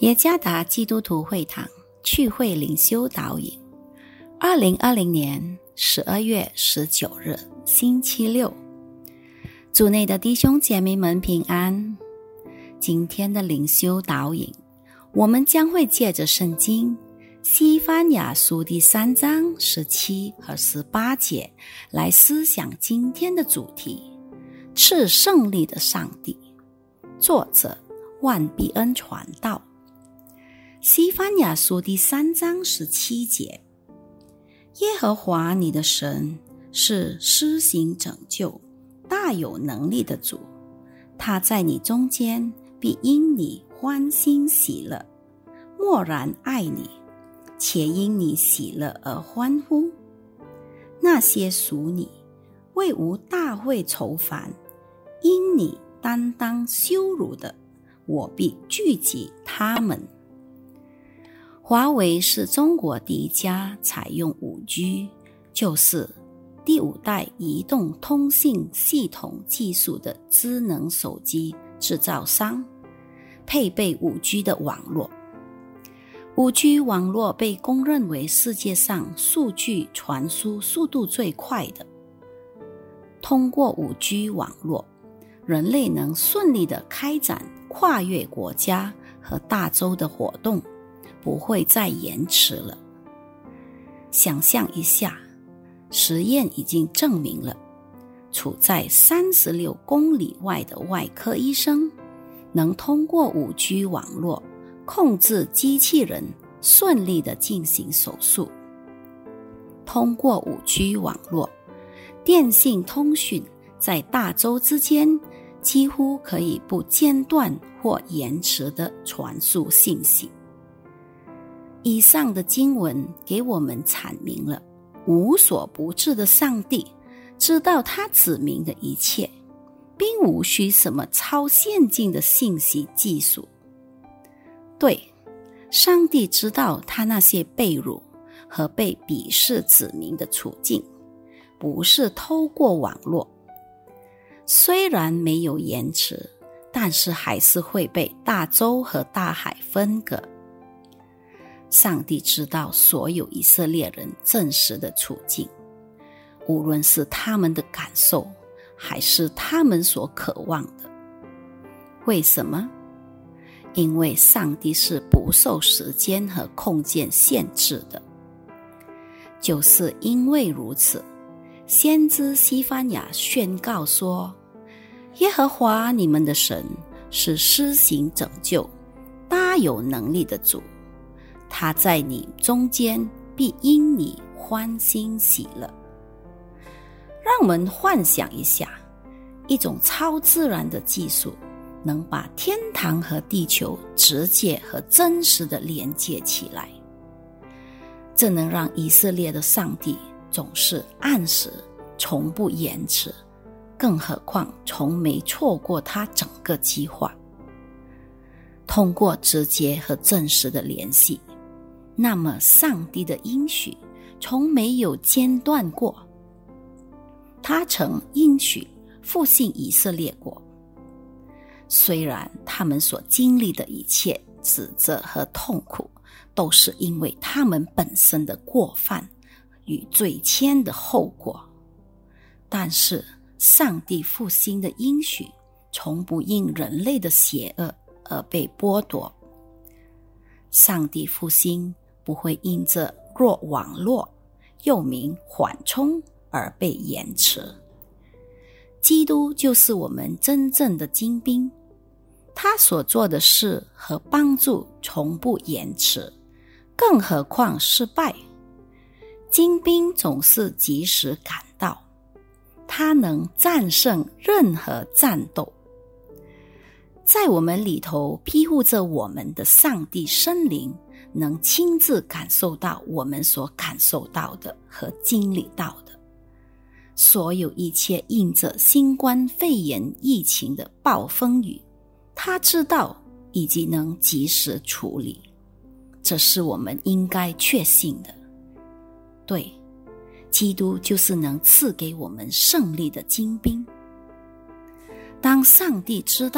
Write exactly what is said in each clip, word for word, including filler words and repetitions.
耶加达基督徒会堂聚会灵修导引，二零二零年十二月十九日星期六，主内的弟兄姐妹们平安。今天的灵修导引，我们将会借着圣经西番雅书第三章十七和十八节来思想今天的主题：赐胜利的上帝。作者万必恩传道。西番雅书第三章十七节，耶和华你的神是施行拯救、大有能力的主，他在你中间必因你欢欣喜乐，默然爱你，且因你喜乐而欢呼。那些属你、为无大会愁烦、因你担当羞辱的，我必聚集他们。华为是中国第一家采用 五 G， 就是第五代移动通信系统技术的智能手机制造商，配备 五 G 的网络。五 G 网络被公认为世界上数据传输速度最快的。通过 五 G 网络，人类能顺利地开展跨越国家和大洲的活动，不会再延迟了。想象一下，实验已经证明了，处在三十六公里外的外科医生能通过 五 G 网络控制机器人顺利地进行手术。通过 五 G 网络，电信通讯在大洲之间几乎可以不间断或延迟地传输信息。以上的经文给我们阐明了无所不至的上帝知道他子民的一切，并无需什么超先进的信息技术。对，上帝知道他那些被辱和被鄙视子民的处境，不是透过网络，虽然没有延迟，但是还是会被大洲和大海分隔。上帝知道所有以色列人真实的处境，无论是他们的感受，还是他们所渴望的。为什么？因为上帝是不受时间和空间限制的。就是因为如此，先知西番雅宣告说，耶和华你们的神是施行拯救、大有能力的主，他在你中间必因你欢欣喜乐。让我们幻想一下，一种超自然的技术能把天堂和地球直接和真实的连接起来，这能让以色列的上帝总是按时，从不延迟，更何况从没错过他整个计划。通过直接和真实的联系，那么上帝的应许从没有间断过。他曾应许复兴以色列国，虽然他们所经历的一切指责和痛苦都是因为他们本身的过犯与罪愆的后果，但是上帝复兴的应许从不因人类的邪恶而被剥夺。上帝复兴不会因着弱网络，又名缓冲，而被延迟。基督就是我们真正的精兵，他所做的事和帮助从不延迟，更何况失败。精兵总是及时赶到，他能战胜任何战斗。在我们里头庇护着我们的上帝圣灵，能亲自感受到我们所感受到的和经历到的。所有一切因着新冠肺炎疫情的暴风雨，他知道以及能及时处理，这是我们应该确信的。对，基督就是能赐给我们胜利的精兵。当上帝知道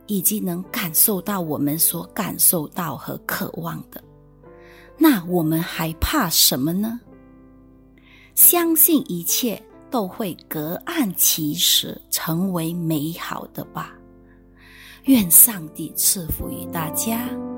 以及能感受到我们所感受到和渴望的，那我们还怕什么呢？相信一切都会隔岸其实，成为美好的吧。愿上帝赐福于大家。